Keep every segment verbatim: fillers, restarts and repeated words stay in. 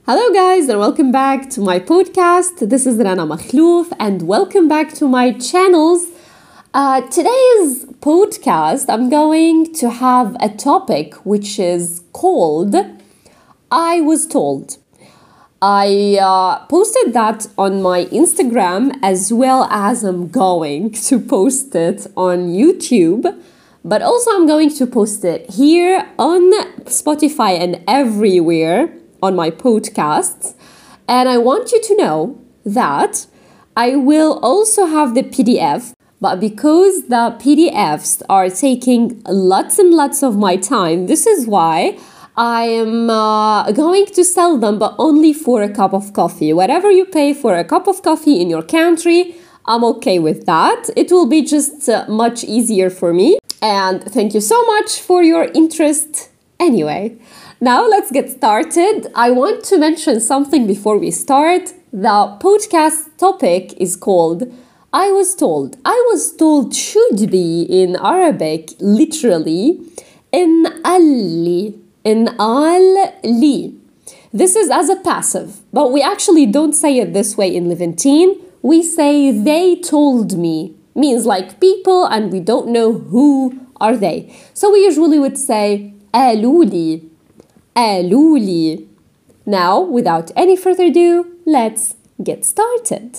Hello guys and welcome back to my podcast. This is Rana Makhlouf and welcome back to my channels. Uh, today's podcast I'm going to have a topic which is called I Was Told. I uh, posted that on my Instagram as well as I'm going to post it on YouTube, but also I'm going to post it here on Spotify and everywhere on my podcasts. And I want you to know that I will also have the P D F, but because the P D Fs are taking lots and lots of my time, this is why I am uh, going to sell them, but only for a cup of coffee. Whatever you pay for a cup of coffee in your country, I'm okay with that. It will be just uh, much easier for me. And thank you so much for your interest. Anyway, now let's get started. I want to mention something before we start. The podcast topic is called I Was Told. I was told should be in Arabic literally in alli. In al-li. This is as a passive, but we actually don't say it this way in Levantine. We say they told me, means like people and we don't know who are they. So we usually would say aluli, aluli. Now, without any further ado, let's get started.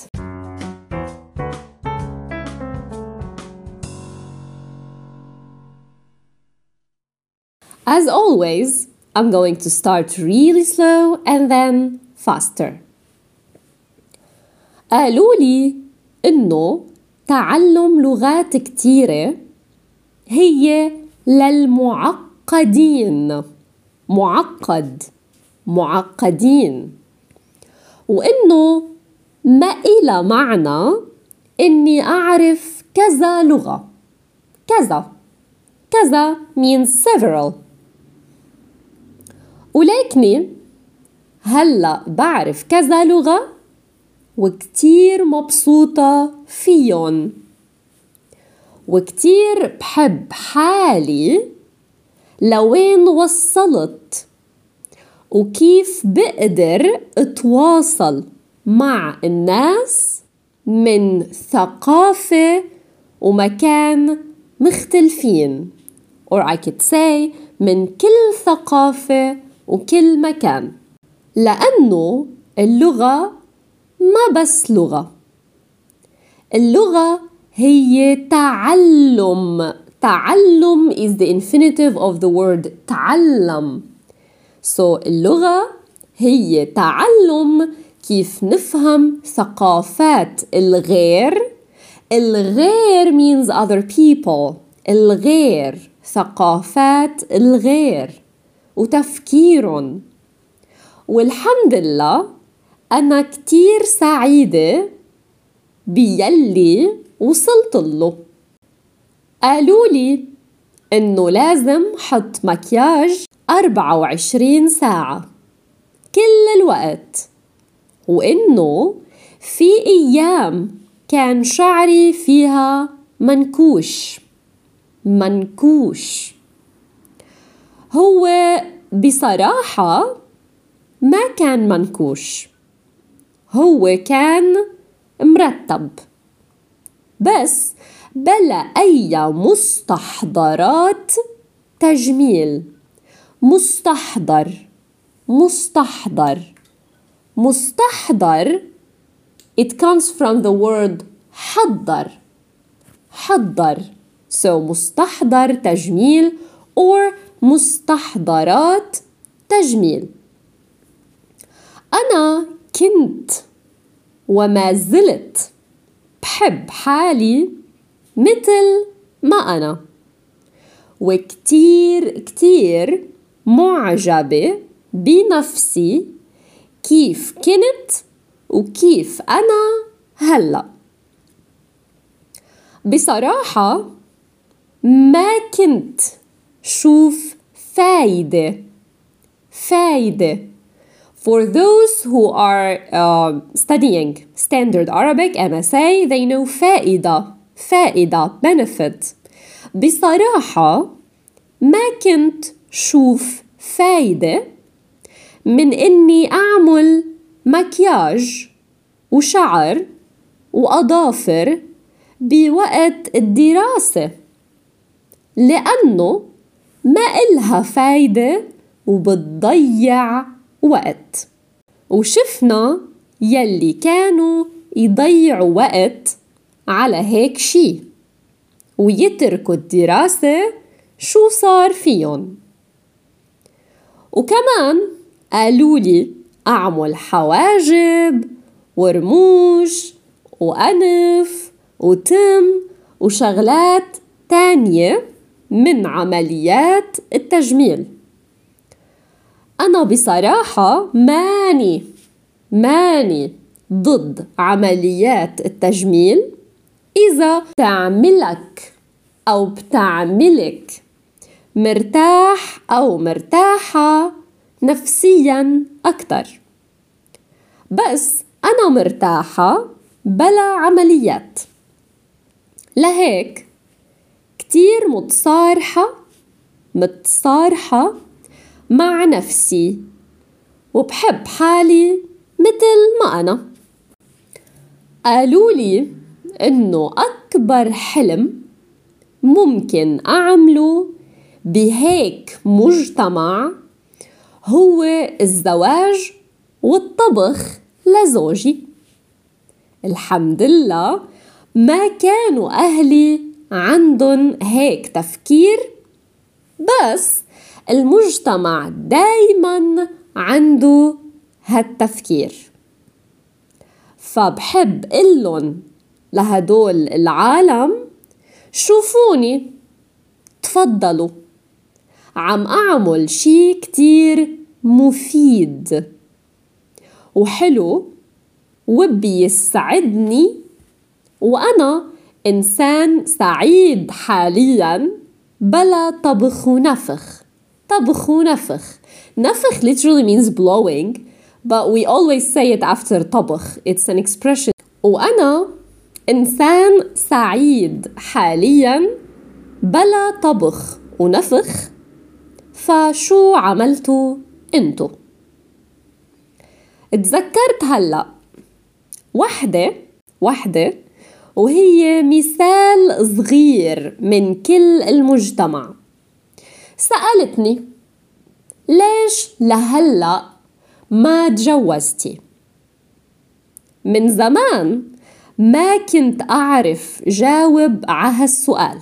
As always, I'm going to start really slow and then faster. قالوا لي إنه تعلم لغات كتيرة هي للمعقدين. معقد، معقدين. وإنه ما إلى معنى إني أعرف كذا لغة. كذا. كذا means several. ولكني هلأ بعرف كذا لغة وكتير مبسوطة فيهم وكتير بحب حالي لوين وصلت وكيف بقدر اتواصل مع الناس من ثقافة ومكان مختلفين or I could say من كل ثقافة وكل مكان. لأنه اللغة ما بس لغة، اللغة هي تعلم. تعلم is the infinitive of the word تعلم. So اللغة هي تعلم كيف نفهم ثقافات الغير. الغير means other people. الغير، ثقافات الغير وتفكيرهم. والحمد لله أنا كتير سعيدة بيلي وصلت له. قالوا لي إنه لازم حط مكياج أربعة وعشرين ساعة كل الوقت، وإنه في أيام كان شعري فيها منكوش. منكوش. هو بصراحة ما كان منكوش، هو كان مرتب بس بلا أي مستحضرات تجميل. مستحضر، مستحضر، مستحضر. It comes from the word حضر. حضر. So مستحضر تجميل or مستحضرات تجميل. أنا كنت وما زلت بحب حالي مثل ما أنا، وكتير كتير معجبة بنفسي كيف كنت وكيف أنا هلأ. بصراحة ما كنت شوف فايدة فايدة. For those who are uh, studying standard Arabic M S A, they know فائدة فائدة benefit. بصراحة ما كنت شوف فايدة من إني أعمل مكياج وشعر وأظافر بوقت الدراسة، لأنه ما إلها فايدة وبتضيع وقت. وشفنا يلي كانوا يضيعوا وقت على هيك شي ويتركوا الدراسة شو صار فيهم. وكمان قالوا لي أعمل حواجب ورموش وأنف وتم وشغلات تانية من عمليات التجميل. أنا بصراحة ماني ماني ضد عمليات التجميل إذا بتعملك أو بتعملك مرتاح أو مرتاحة نفسياً أكتر، بس أنا مرتاحة بلا عمليات. لهيك كتير متصارحة متصارحة مع نفسي وبحب حالي مثل ما أنا. قالوا لي إنه أكبر حلم ممكن أعمله بهيك مجتمع هو الزواج والطبخ لزوجي. الحمد لله ما كانوا أهلي عندهم هيك تفكير، بس المجتمع دايماً عنده هالتفكير. فبحب قلن لهدول العالم شوفوني، تفضلوا، عم أعمل شي كتير مفيد وحلو وبيسعدني، وأنا إنسان سعيد حالياً بلا طبخ ونفخ. طبخ ونفخ. نفخ literally means blowing, but we always say it after طبخ. It's an expression. وأنا إنسان سعيد حالياً بلا طبخ ونفخ، فشو عملتوا انتو؟ اتذكرت هلأ وحدة وحدة وهي مثال صغير من كل المجتمع. سألتني ليش لهلأ ما تجوزتي؟ من زمان ما كنت أعرف جاوب على هالسؤال،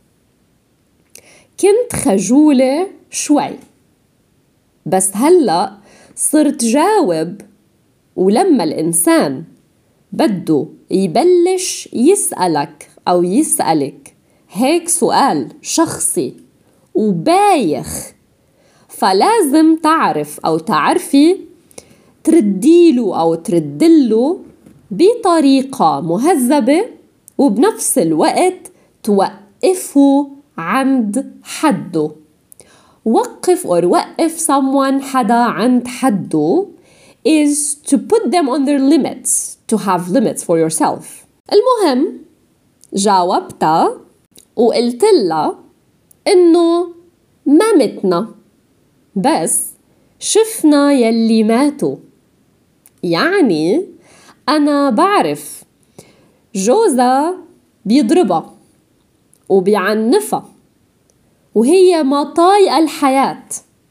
كنت خجولة شوي، بس هلأ صرت جاوب. ولما الإنسان بده يبلش يسألك أو يسألك هيك سؤال شخصي وبايخ، فلازم تعرف أو تعرفي ترديله أو تردله بطريقة مهذبة، وبنفس الوقت توقفه عند حده. وقف or وقف someone حدا عند حده is to put them on their limits, to have limits for yourself. المهم جاوبتها وقلت لها إنه ما متنا، بس شفنا يلي ماتوا. يعني أنا بعرف جوزها بيضربها وبيعنفها وهي ما طايقة الحياة،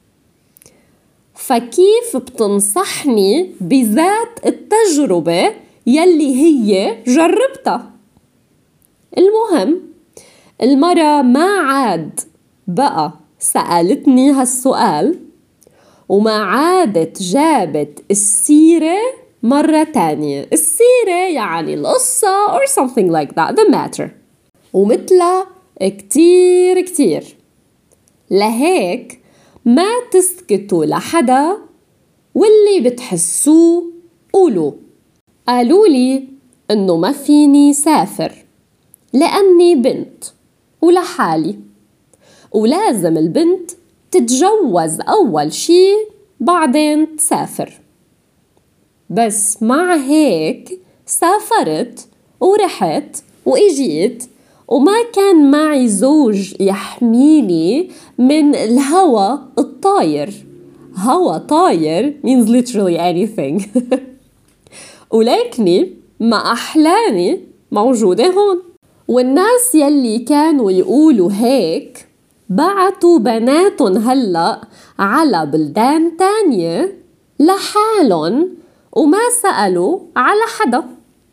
فكيف بتنصحني بذات التجربة يلي هي جربتها؟ المهم المرة ما عاد بقى سألتني هالسؤال، وما عادت جابت السيرة مرة تانية. السيرة يعني القصة or something like that, the matter. ومثلها كتير كتير. لهيك ما تسكتوا لحدا، واللي بتحسوه قولوا. قالوا لي إنه ما فيني سافر لأني بنت ولحالي، ولازم البنت تتجوز أول شي بعدين تسافر. بس مع هيك سافرت ورحت وإجيت، وما كان معي زوج يحميني من الهوى الطاير هوا طاير means literally anything. ولكني مع أحلامي موجودة هون. والناس يلي كانوا يقولوا هيك بعتوا بناتهم هلأ على بلدان تانية لحالهم وما سألوا على حدا.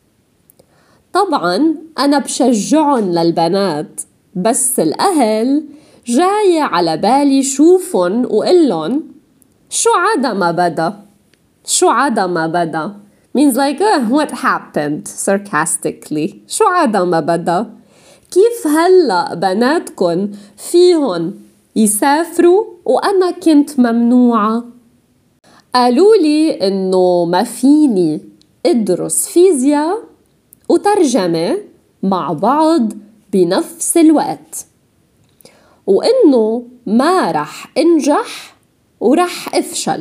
طبعاً أنا بشجعهم للبنات، بس الأهل جاية على بالي شوفن وقلن شو عدا ما بدا، شو عدا ما بدا means like uh, what happened sarcastically. شو عدا ما بدا؟ كيف هلأ بناتكن فيهن يسافروا وأنا كنت ممنوعة؟ قالوا لي إنه ما فيني أدرس فيزياء وترجمة مع بعض بنفس الوقت، وإنه ما رح أنجح ورح أفشل.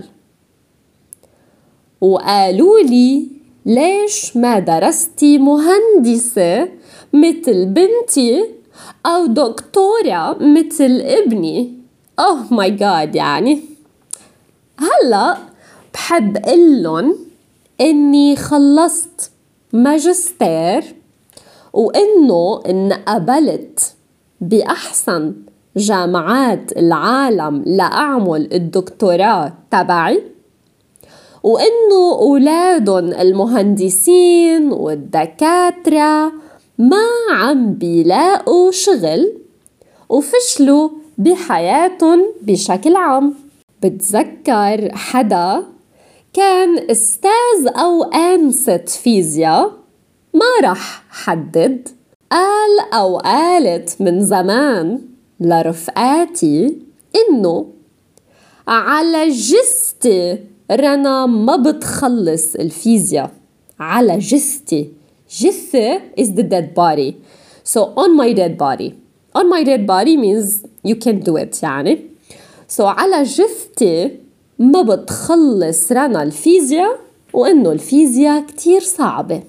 وقالوا لي ليش ما درستي مهندسة مثل بنتي أو دكتورة مثل ابني؟ oh my god. يعني هلأ بحب قلن إني خلصت ماجستير وإنه انقبلت بأحسن جامعات العالم لأعمل الدكتوراه تبعي، وإنه أولادن المهندسين والدكاترة ما عم بيلاقوا شغل وفشلوا بحياتهم بشكل عام. بتذكر حدا كان أستاذ أو آنسة فيزياء، ما رح حدد، قال أو قالت من زمان لرفقاتي إنه على جستي رنا ما بتخلص الفيزياء. على جستي، جثة is the dead body, so on my dead body. on my dead body means you can do it يعني. so على جثتي ما بتخلص رنا الفيزياء، وإنه الفيزياء كتير صعبة.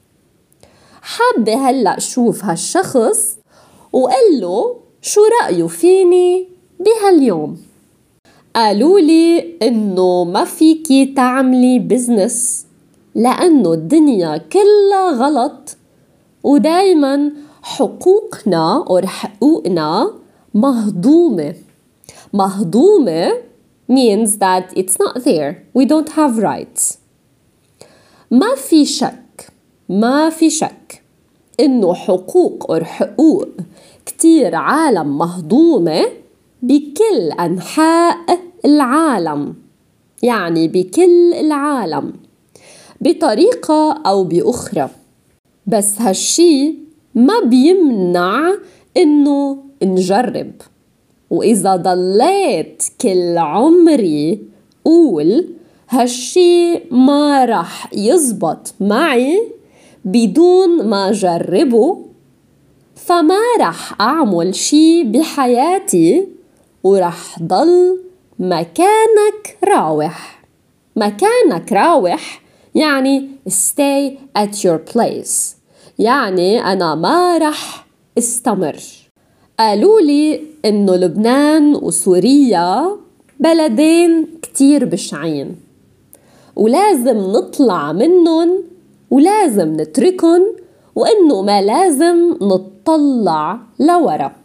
حابة هلأ شوف هالشخص وقله شو رأيه فيني بهاليوم. قالوا لي إنه ما فيكي تعملي بزنس لأنه الدنيا كلها غلط، ودايما حقوقنا أو حقوقنا مهضومة. مهضومة means that it's not there. We don't have rights. ما في شك ما في شك إنه حقوق أو حقوق كتير عالم مهضومة بكل أنحاء العالم، يعني بكل العالم بطريقة أو بأخرى. بس هالشي ما بيمنع إنه نجرب. وإذا ضليت كل عمري قول هالشي ما رح يزبط معي بدون ما جربه، فما رح أعمل شي بحياتي ورح ضل مكانك راوح. مكانك راوح يعني stay at your place، يعني أنا ما رح استمر. قالوا لي إنه لبنان وسوريا بلدين كتير بشعين، ولازم نطلع منهم ولازم نتركن، وإنه ما لازم نتطلع لورا.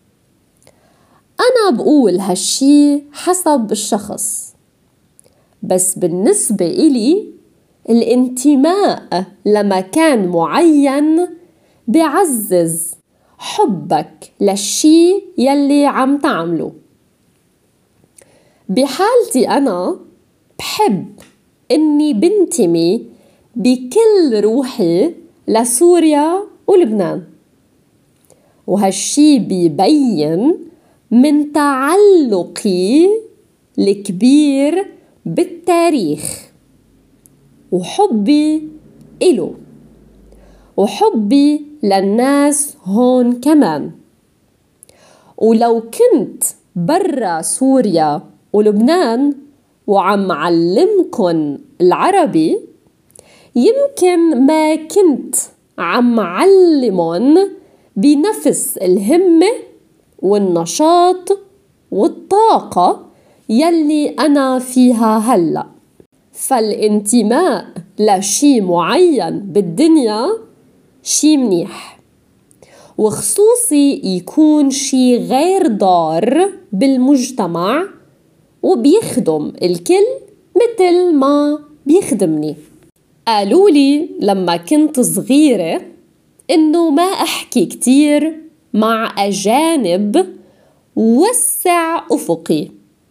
أنا بقول هالشي حسب الشخص، بس بالنسبة إلي الانتماء لمكان معين بعزز حبك للشي يلي عم تعمله. بحالتي أنا بحب إني بنتمي بكل روحي لسوريا ولبنان، وهالشي بيبين من تعلقي الكبير بالتاريخ وحبي إله وحبي للناس هون كمان. ولو كنت برا سوريا ولبنان وعم علمكن العربي، يمكن ما كنت عم علمن بنفس الهمة والنشاط والطاقة يلي أنا فيها هلأ. فالانتماء لشي معين بالدنيا شي منيح، وخصوصي يكون شي غير ضار بالمجتمع وبيخدم الكل مثل ما بيخدمني. قالوا لي لما كنت صغيرة إنه ما أحكي كتير مع أجانب وسع أفقي،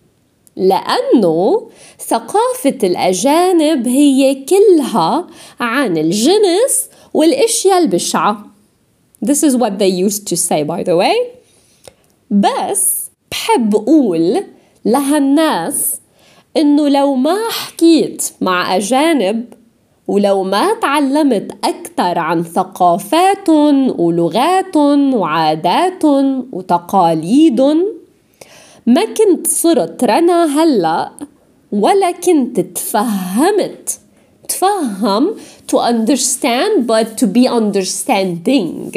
لأنه ثقافة الأجانب هي كلها عن الجنس والأشياء البشعة. This is what they used to say by the way. بس بحب أقول لهالناس إنه لو ما حكيت مع أجانب ولو ما تعلمت أكثر عن ثقافاتهم ولغاتهم وعاداتهم وتقاليدهم، ما كنت صرت رنا هلأ ولا كنت تفهمت تفهم to understand but to be understanding،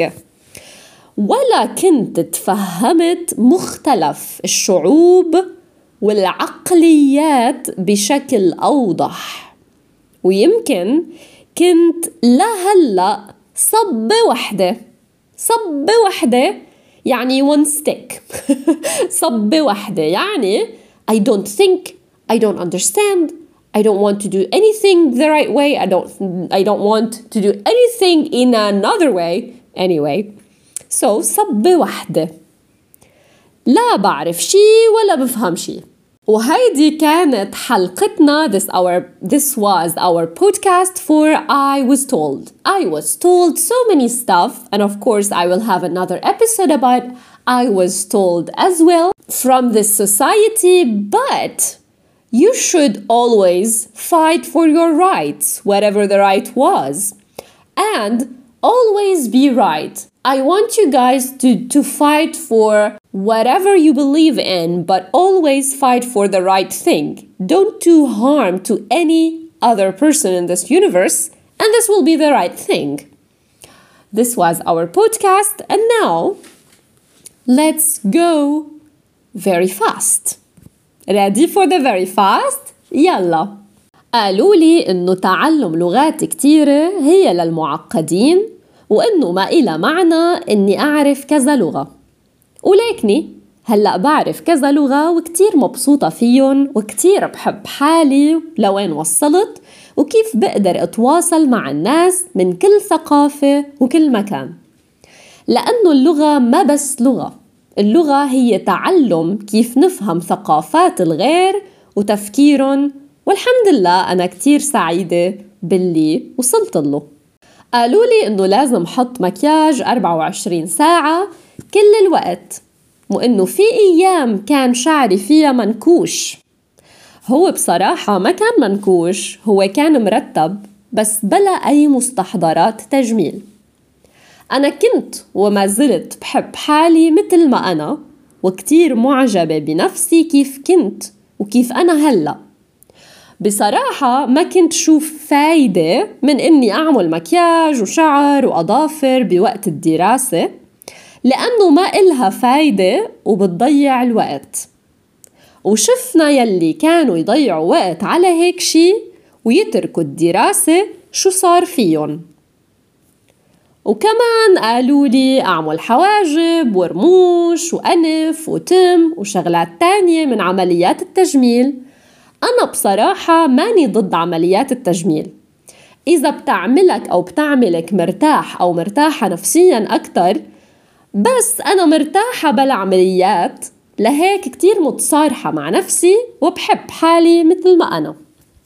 ولا كنت تفهمت مختلف الشعوب والعقليات بشكل أوضح. ويمكن كنت لهلأ صبة وحدة صبة وحدة يعني one stick صبة وحدة يعني I don't think, I don't understand, I don't want to do anything the right way, I don't, I don't want to do anything in another way anyway. So صبة وحدة، لا بعرف شي ولا بفهم شي. وهيدي كانت حلقتنا. This our this was our podcast for I was told. I was told so many stuff, and of course I will have another episode about I was told as well from this society, but you should always fight for your rights, whatever the right was, and always be right. I want you guys to, to fight for whatever you believe in, but always fight for the right thing. Don't do harm to any other person in this universe, and this will be the right thing. This was our podcast, and now let's go very fast. Ready for the very fast? يلا. قالوا لي إنه تعلم لغات كتيرة هي للمعقدين، وإنه ما إلى معنى إني أعرف كذا لغة. ولكني هلأ بعرف كذا لغة وكتير مبسوطة فيهم، وكتير بحب حالي لوين وصلت وكيف بقدر أتواصل مع الناس من كل ثقافة وكل مكان. لأنه اللغة ما بس لغة، اللغة هي تعلم كيف نفهم ثقافات الغير وتفكيرهم، والحمد لله أنا كتير سعيدة باللي وصلت له. قالوا لي إنه لازم حط مكياج أربعة وعشرين ساعة كل الوقت، وإنه في أيام كان شعري فيها منكوش. هو بصراحة ما كان منكوش، هو كان مرتب بس بلا أي مستحضرات تجميل. أنا كنت وما زلت بحب حالي مثل ما أنا، وكتير معجبة بنفسي كيف كنت وكيف أنا هلأ. بصراحة ما كنت شوف فايدة من إني أعمل مكياج وشعر وأظافر بوقت الدراسة، لأنه ما إلها فايدة وبتضيع الوقت. وشفنا يلي كانوا يضيعوا وقت على هيك شي ويتركوا الدراسة شو صار فيهم. وكمان قالوا لي أعمل حواجب ورموش وأنف وتم وشغلات تانية من عمليات التجميل. أنا بصراحة ماني ضد عمليات التجميل إذا بتعملك أو بتعملك مرتاح أو مرتاحة نفسياً أكتر، بس أنا مرتاحة بلا عمليات، لهيك كتير متصارحة مع نفسي وبحب حالي مثل ما أنا.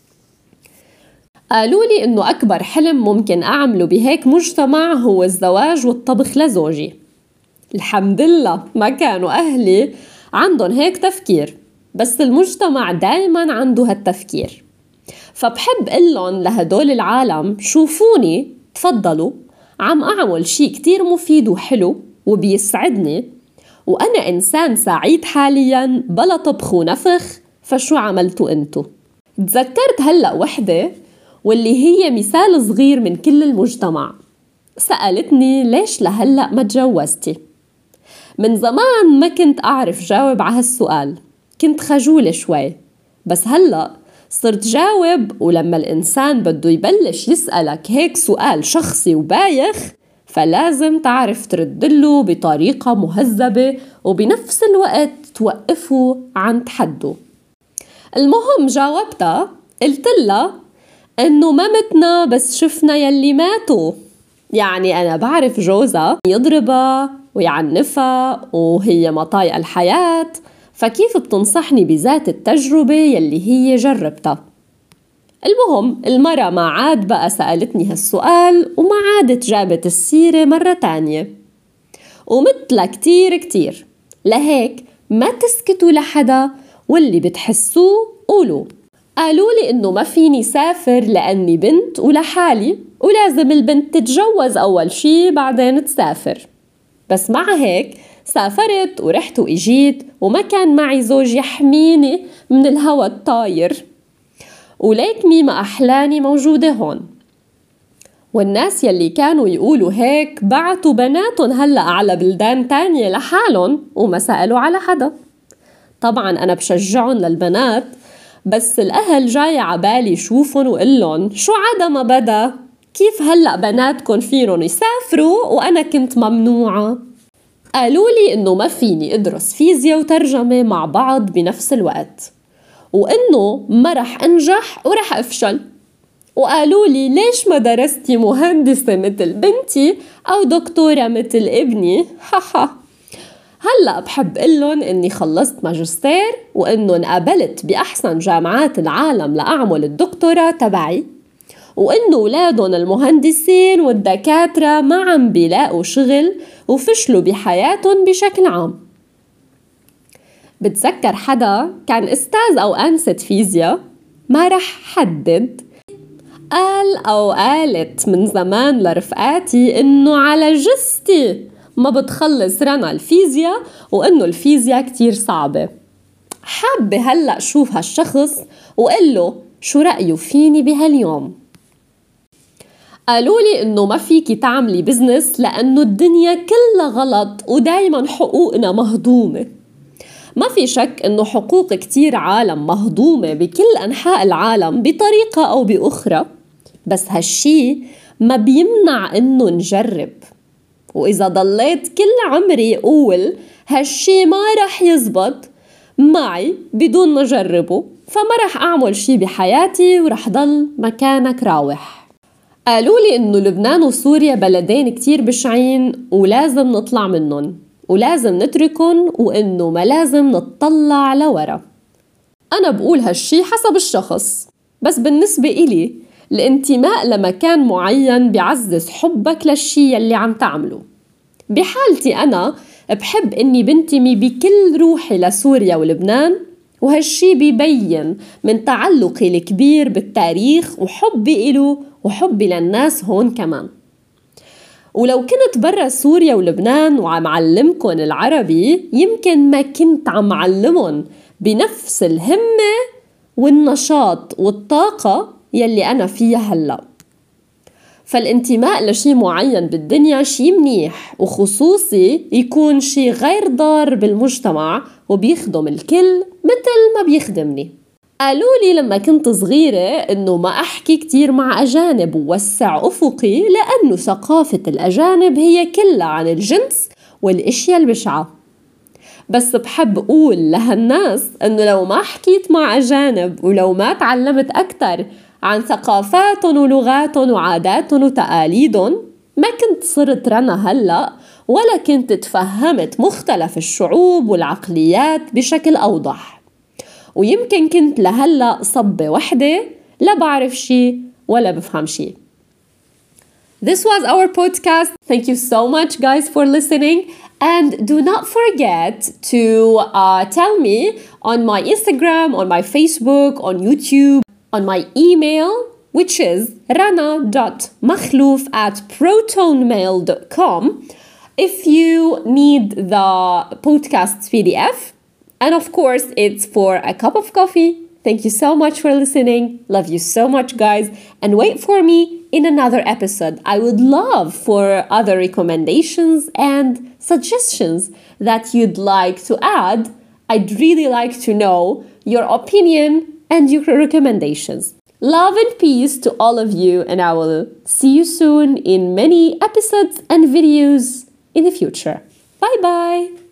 قالوا لي إنه أكبر حلم ممكن أعمله بهيك مجتمع هو الزواج والطبخ لزوجي. الحمد لله ما كانوا أهلي عندهم هيك تفكير، بس المجتمع دايما عنده هالتفكير. فبحب قلن لهدول العالم شوفوني تفضلوا عم أعمل شي كتير مفيد وحلو وبيسعدني، وأنا إنسان سعيد حاليا بلا طبخ ونفخ، فشو عملتوا أنتو؟ تذكرت هلأ وحدة واللي هي مثال صغير من كل المجتمع، سألتني ليش لهلأ ما تجوزتي؟ من زمان ما كنت أعرف جاوب على هالسؤال، كنت خجولة شوي، بس هلأ صرت جاوب. ولما الإنسان بده يبلش يسألك هيك سؤال شخصي وبايخ فلازم تعرف تردله بطريقة مهذبة وبنفس الوقت توقفه عند حده. المهم جاوبتها، قلت لها إنه ما متنا بس شفنا يلي ماتوا. يعني أنا بعرف جوزها يضربها ويعنفها وهي ما طايقة الحياة، فكيف بتنصحني بذات التجربة يلي هي جربتها؟ المهم المرة ما عاد بقى سألتني هالسؤال وما عادت جابت السيرة مرة تانية. ومثل كتير كتير، لهيك ما تسكتوا لحدا واللي بتحسوه قولوا. قالوا لي إنه ما فيني سافر لأني بنت ولحالي ولازم البنت تتجوز أول شي بعدين تسافر. بس مع هيك سافرت ورحت وإجيت وما كان معي زوج يحميني من الهوى الطاير، وليك ما أحلاني موجودة هون. والناس يلي كانوا يقولوا هيك بعتوا بناتهم هلأ على بلدان تانية لحالهم وما سألوا على حدا. طبعا أنا بشجعهم للبنات، بس الأهل جاي عبالي شوفهم وقلن شو عدا ما بدا، كيف هلأ بناتكن فينن يسافروا وأنا كنت ممنوعة؟ قالوا لي إنه ما فيني أدرس فيزياء وترجمة مع بعض بنفس الوقت، وإنه ما رح أنجح ورح أفشل. وقالوا لي ليش ما درستي مهندسة مثل بنتي أو دكتورة مثل ابني؟ ححا. هلأ بحب قلن إني خلصت ماجستير وإنه انقبلت بأحسن جامعات العالم لأعمل الدكتوراه تبعي، وإنه أولادهم المهندسين والدكاترة ما عم بيلاقوا شغل وفشلوا بحياتهم بشكل عام. بتذكر حدا كان أستاذ أو أنسة فيزياء، ما رح حدد، قال أو قالت من زمان لرفقاتي إنه على جستي ما بتخلص رنا الفيزياء وإنه الفيزياء كتير صعبة. حابة هلأ شوف هالشخص وقله شو رأيه فيني بهاليوم. قالوا لي إنه ما فيكي تعملي بزنس لأنه الدنيا كلها غلط ودايما حقوقنا مهضومة. ما في شك إنه حقوق كتير عالم مهضومة بكل أنحاء العالم بطريقة أو بأخرى، بس هالشي ما بيمنع إنه نجرب. وإذا ضليت كل عمري أقول هالشي ما رح يزبط معي بدون ما جربه، فما رح أعمل شي بحياتي ورح ضل مكانك راوح. قالوا لي إنه لبنان وسوريا بلدين كتير بشعين ولازم نطلع منهم ولازم نتركن وإنه ما لازم نتطلع لورا. أنا بقول هالشي حسب الشخص، بس بالنسبة إلي الانتماء لمكان معين بيعزز حبك للشي يلي عم تعمله. بحالتي أنا بحب إني بنتمي بكل روحي لسوريا ولبنان، وهالشي بيبين من تعلقي الكبير بالتاريخ وحبي إله وحبي للناس هون كمان. ولو كنت برا سوريا ولبنان وعم علمكن العربي يمكن ما كنت عم علمهم بنفس الهمة والنشاط والطاقة يلي أنا فيها هلأ. فالانتماء لشي معين بالدنيا شي منيح، وخصوصي يكون شي غير ضار بالمجتمع وبيخدم الكل مثل ما بيخدمني. قالوا لي لما كنت صغيرة إنه ما أحكي كتير مع أجانب ووسع أفقي لأنه ثقافة الأجانب هي كلها عن الجنس والإشياء البشعة. بس بحب أقول لهالناس إنه لو ما حكيت مع أجانب ولو ما تعلمت أكتر عن ثقافاتهم ولغاتهم وعاداتهم وتقاليدهم ما كنت صرت رنا هلأ، ولا كنت تفهمت مختلف الشعوب والعقليات بشكل أوضح. ويمكن كنت لهلأ صبة وحدة لا بعرف شي ولا بفهم شي. This was our podcast. Thank you so much guys for listening, and do not forget to uh, tell me on my Instagram, on my Facebook, on YouTube, on my email, which is rana dot makhlouf at protonmail dot com, if you need the podcast P D F. And of course, it's for a cup of coffee. Thank you so much for listening. Love you so much, guys. And wait for me in another episode. I would love for other recommendations and suggestions that you'd like to add I'd really like to know your opinion and your recommendations. Love and peace to all of you, and I will see you soon in many episodes and videos in the future. Bye bye!